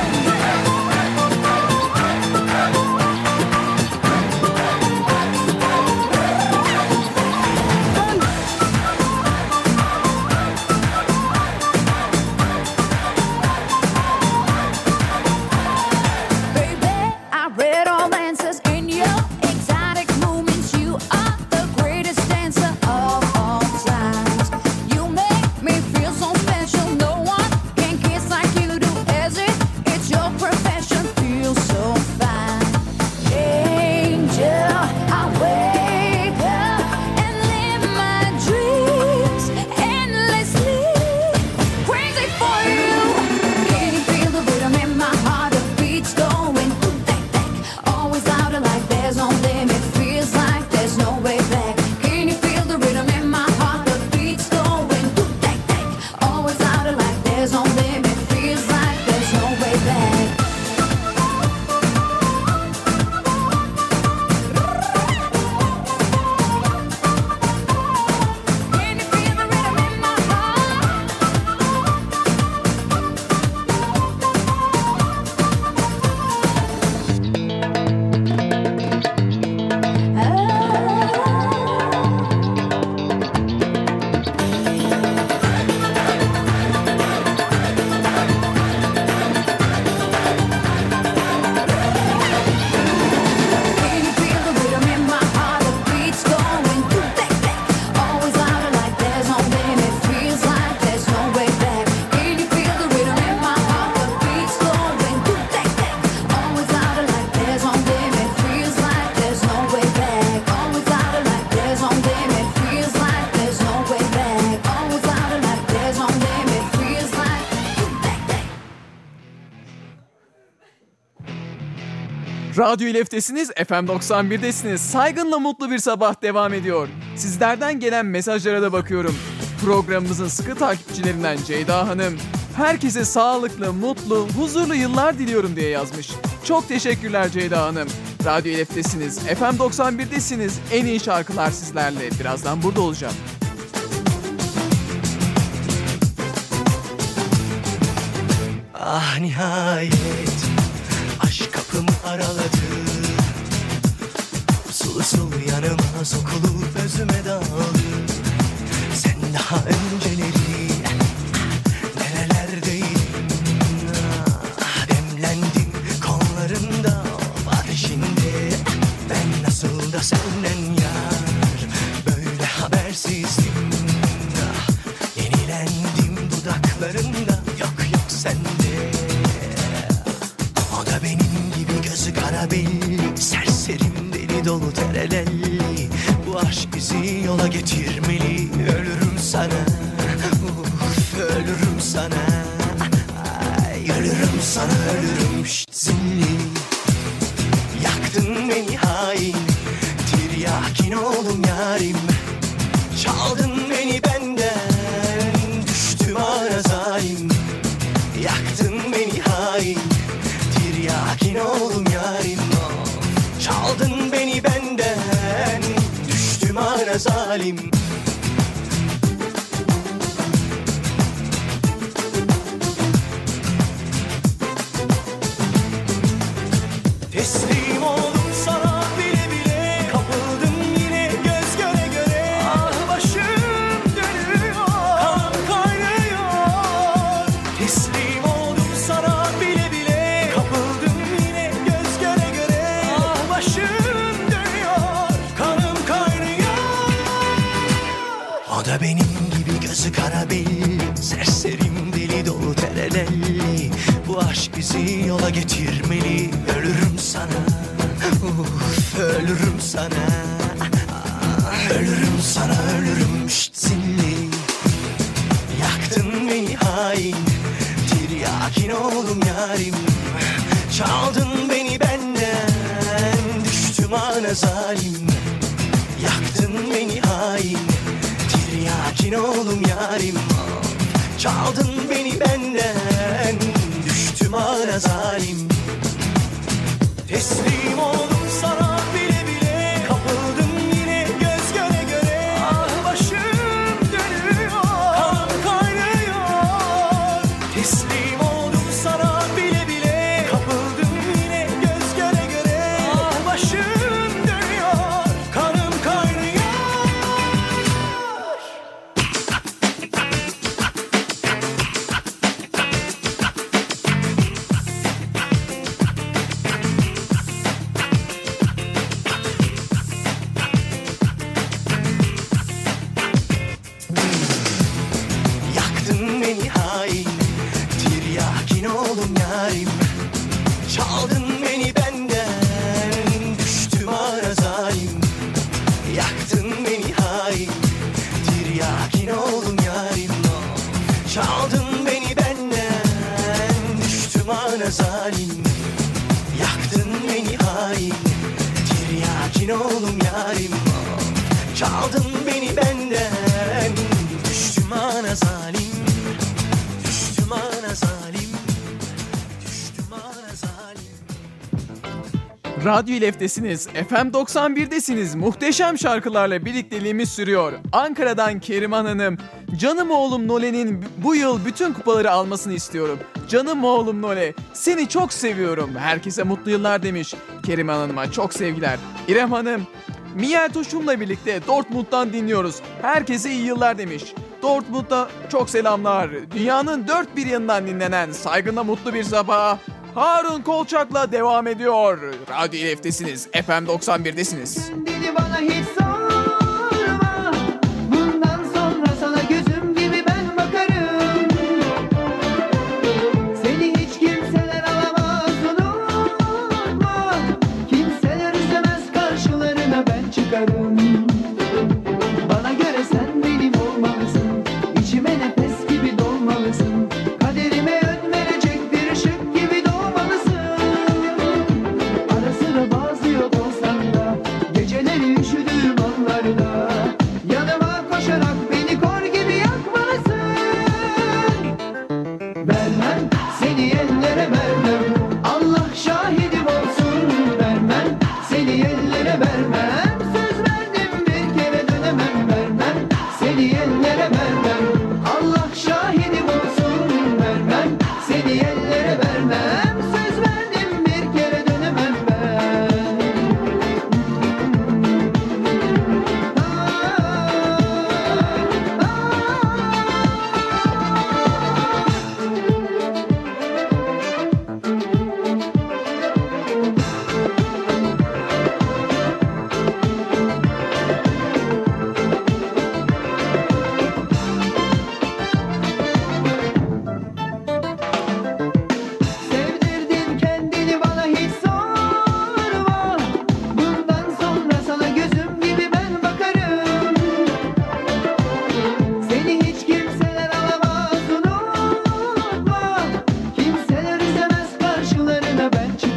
Baby, I read all answers in your exotic movements. You are the greatest dancer of all times. You make me feel so special. No one can kiss like you do. As if it's your profession. Feels so fine. Angel, I wake up and live my dreams endlessly. Crazy for you. Can you feel the rhythm in my heart? The beats going through that. Always out of like there's no limit. Feels like there's no way back. Can you feel the rhythm in my heart? The beats going through that. Always out of like there's no limit. Feels like there's no way back. Can you feel the rhythm in my heart? Can you feel the rhythm in my heart? The beats going through that. Always out of like there's no limit. Feels like there's no way back. Can you feel the rhythm in my heart? The beats going through that. Always out of like there's no limit. Feels like there's no way back. Always out of like there's no limit. Feels like there's no way back. Always out of like there's no limit. Feels like that. Radyo İLEF'tesiniz, FM 91'desiniz. Saygınla Mutlu Bir Sabah devam ediyor. Sizlerden gelen mesajlara da bakıyorum. Programımızın sıkı takipçilerinden Ceyda Hanım, herkese sağlıklı, mutlu, huzurlu yıllar diliyorum diye yazmış. Çok teşekkürler Ceyda Hanım. Radyo İLEF'tesiniz, FM 91'desiniz. En iyi şarkılar sizlerle. Birazdan burada olacağım. Ah nihayet aşk kapımı araladı. Sulu sulu yanıma sokulup özüme daldı. Sen daha önceleri nerelerdeydin? Ah, demlendim kollarında var şimdi. Ben nasıl da senden yar böyle habersizdim. Ah, yenilen kara belli, serserim deli dolu terelelli. Bu aşk bizi yola getirmeli. Ölürüm sana, ölürüm sana. Ay, ölürüm sana, ölürüm zilli. Yaktın beni hain, tiryakin oldum yarim. Çaldın beni benden, düştüm ara zalim. Yaktın beni hain, tiryakin oldum yarim. Çaldın beni benden, düştüm ara zalim. Teslim oldum sana bile bile, kapıldım yine göz göre göre. Ah başım dönüyor, kanım kaynıyor. Teslim oldum sana bile bile, kapıldım yine göz göre göre. Ah başım dönüyor, kanım kaynıyor. O da benim gibi gözü kara belli, serserim deli dolu terelelli. Bu aşk bizi yola getirmeli. Ölürüm sana, ölürüm sana. Ölürüm sana, ölürüm zilli. Yaktın beni hain, tiryakin oldum yarim. Çaldın beni benden, düştüm ana zalim. Yaktın beni hain, tiryakin oldum yarim. Çaldın beni benden, düştüm ana zalim. Teslim oldum sana bile bile, kapıldım yine göz göre göre. Ah başım dönüyor, kanım kaynıyor. Teslim oldum sana bile bile, kapıldım yine göz göre göre. Ah başım dönüyor, kanım kaynıyor. Yaktın beni hain, tiryakin oldum yarim. Çaldın beni benden, düştüm ara zalim. Yaktın beni hain, tiryakin oldum yarim. Çaldın beni benden, düştüm ana zalim. Yaktın beni hain, tiryakin oldum yarim. Çaldın beni benden, düştüm ana zalim. Düştüm ana zalim. Düştüm ana zalim. Radyo İLEF'tesiniz, FM 91'desiniz. Muhteşem şarkılarla birlikteliğimiz sürüyor. Ankara'dan Keriman Hanım, canım oğlum Nole'nin bu yıl bütün kupaları almasını istiyorum. Canım oğlum Nole, seni çok seviyorum. Herkese mutlu yıllar demiş. Keriman Hanım'a çok sevgiler. İrem Hanım, Miel Tuşum'la birlikte Dortmund'dan dinliyoruz. Herkese iyi yıllar demiş. Dortmund'da çok selamlar. Dünyanın dört bir yanından dinlenen Saygın'la mutlu bir sabah Harun Kolçak'la devam ediyor. Radyo İLEF'tesiniz, FM 91'desiniz. Dedi bana hiç sorma, bundan sonra sana gözüm gibi ben bakarım. Seni hiç kimseler alamaz, unutma. Kimseler istemez, karşılarına ben çıkarım. Bana göre sen benim olmalısın, içime nefes gibi dolmalısın. Kaderime yön verecek bir ışık gibi doğmalısın. Ara sıra bazı yok olsan da, geceleri üşüdüğüm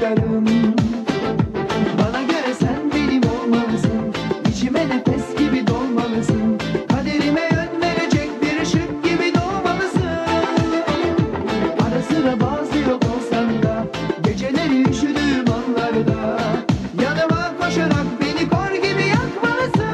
yaşarım. Bana göre sen benim olmalısın, içime nefes gibi dolmalısın, kaderime yön verecek bir ışık gibi doğmalısın. Ara sıra bazı yok olsan da, geceleri üşüdüğüm anlarda, yanıma koşarak beni kor gibi yakmalısın.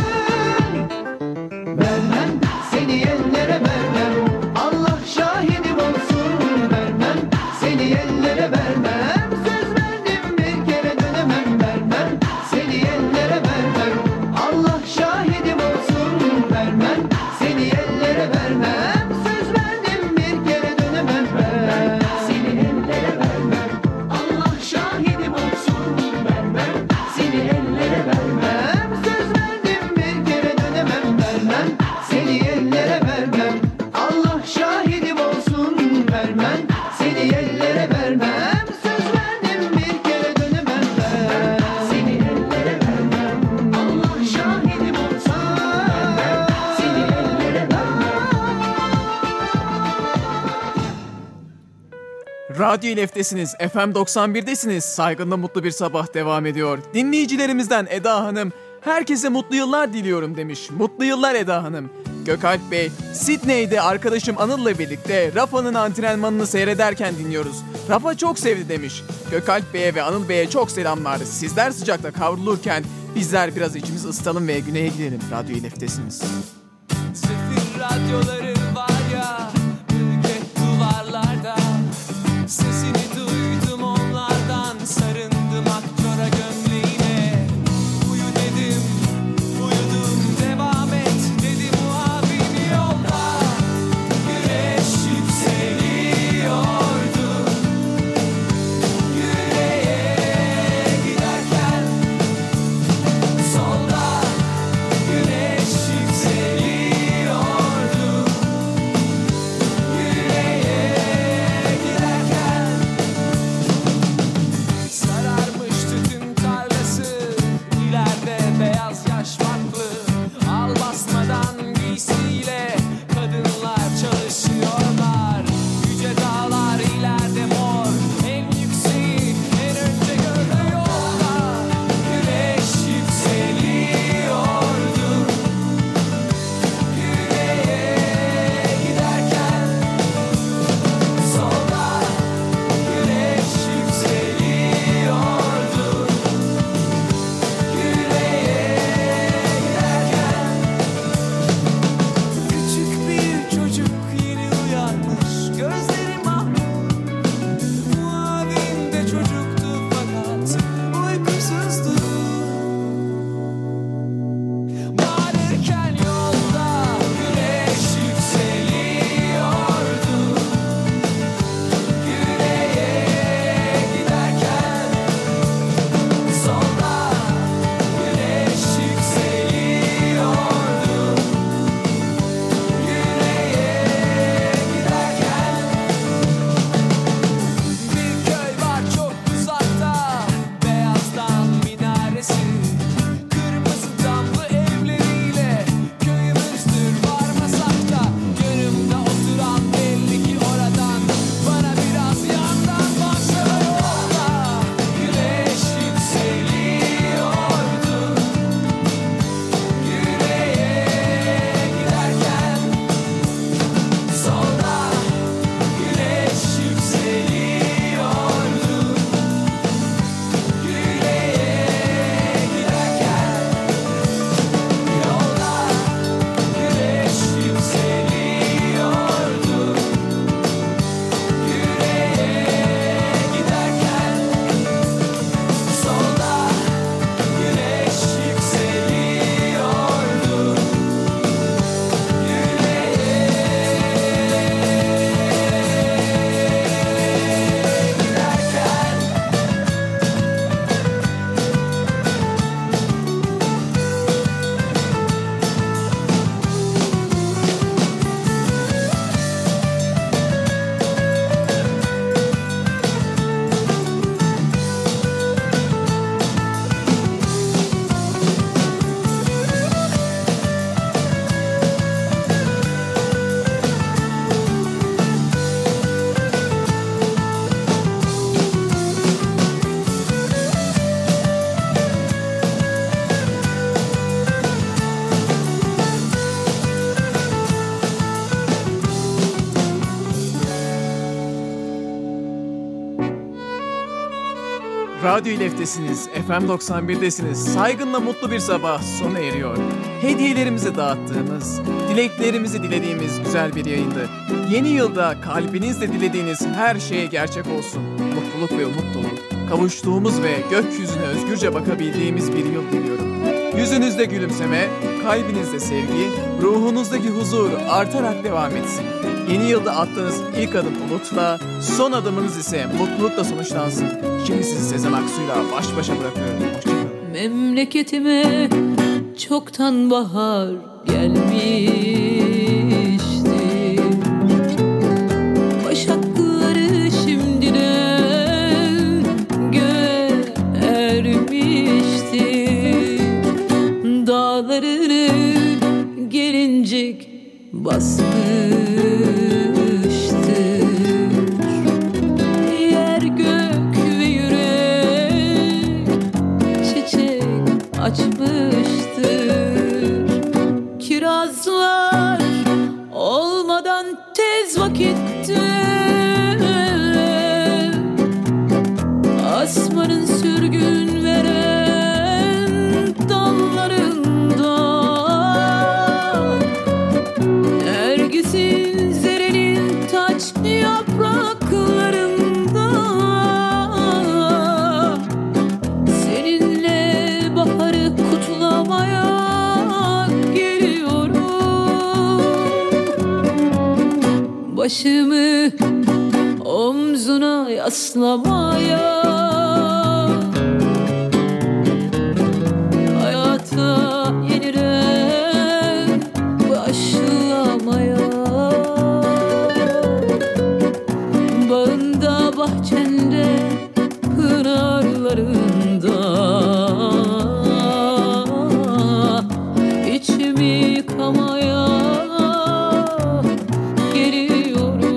Vermem seni ellere vermem, Allah şahidim olsun. Vermem seni ellere vermem, söz verdim bir kere dönemem. Vermem seni ellere vermem, Allah şahidim olsun. Vermem seni ellere vermem, söz verdim bir kere dönemem. Ben seni ellere vermem, Allah şahidim olsun. Vermem seni ellere vermem, söz verdim bir kere dönemem. Vermem seni ellere vermem, Allah şahidim olsun. Vermem seni ellere vermem, söz verdim bir kere dönemem. Ben seni ellere vermem, Allah şahidim olsun. Vermem seni ellere vermem. Radyo İLEF'tesiniz, FM 91'desiniz. Saygınla mutlu bir sabah devam ediyor. Dinleyicilerimizden Eda Hanım, herkese mutlu yıllar diliyorum demiş. Mutlu yıllar Eda Hanım. Gökalp Bey, Sydney'de arkadaşım Anıl'la birlikte Rafa'nın antrenmanını seyrederken dinliyoruz. Rafa çok sevdi demiş. Gökalp Bey'e ve Anıl Bey'e çok selamlar. Sizler sıcakta kavrulurken bizler biraz içimizi ısıtalım ve güneye gidelim. Radyo İLEF'tesiniz. Sefil radyoları var ya, ülke duvarlarda. Sesini duydum onlardan, sarındım akçora gömleğine. Uyu dedim, uyudum, devam et dedi muavin yolda. Güneş yükseliyordu, yüreğe giderken. Solda güneş yükseliyordu, Radyo İlef'tesiniz, FM 91'desiniz. Saygınla mutlu bir sabah sona eriyor. Hediyelerimizi dağıttığımız, dileklerimizi dilediğimiz güzel bir yayındı. Yeni yılda kalbinizle dilediğiniz her şeye gerçek olsun. Mutluluk ve umut dolu, kavuştuğumuz ve gökyüzüne özgürce bakabildiğimiz bir yıl diliyorum. Yüzünüzde gülümseme, kalbinizde sevgi, ruhunuzdaki huzur artarak devam etsin. Yeni yılda attığınız ilk adım umutla, son adımınız ise mutlulukla sonuçlansın. Şimdi sizi Sezen Aksu'yla baş başa bırakıyorum. Hoşçakalın. Memleketime çoktan bahar gelmişti. Başakları şimdiden göğe ermişti. Dağlarını gelincik basmıştır. Yer gök ve yürek çiçek açmıştır. Kirazlar olmadan tez vakitte asmanın sürgün veren dallarında Nergis'in zerenin taç yapraklarında seninle baharı kutlamaya geliyorum. Başımı omzuna yaslamaya, hayata yeniden başlamaya. Bağında bahçende pınarlarında içimi yıkamaya geliyorum.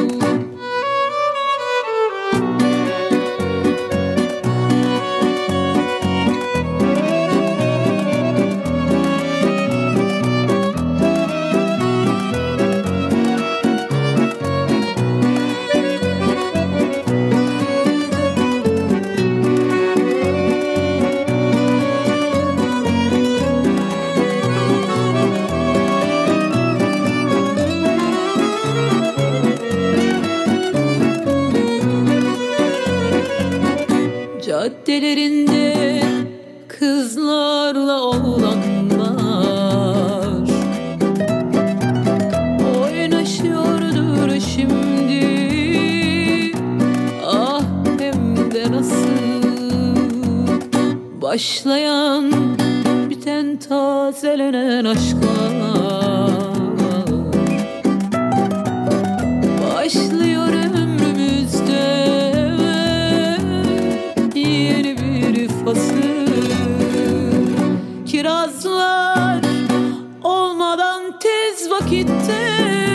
Caddelerinde kızlarla oğlanlar oynaşıyordur şimdi. Ah hem de nasıl başlayan biten tazelenen aşklar. Başlıyor ömrümüzde yeni bir fasıl. Kirazlar olmadan tez vakitte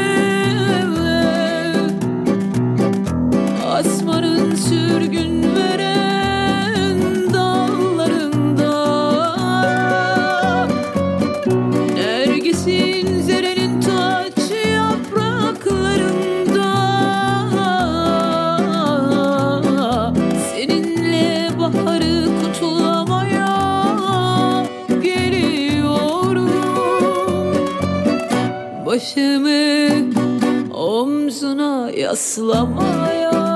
asmanın sürgün veren dallarında Nergis'in zerenin taç yapraklarında seninle baharı kutlamaya geliyorum. Başımı omzuna yaslamaya,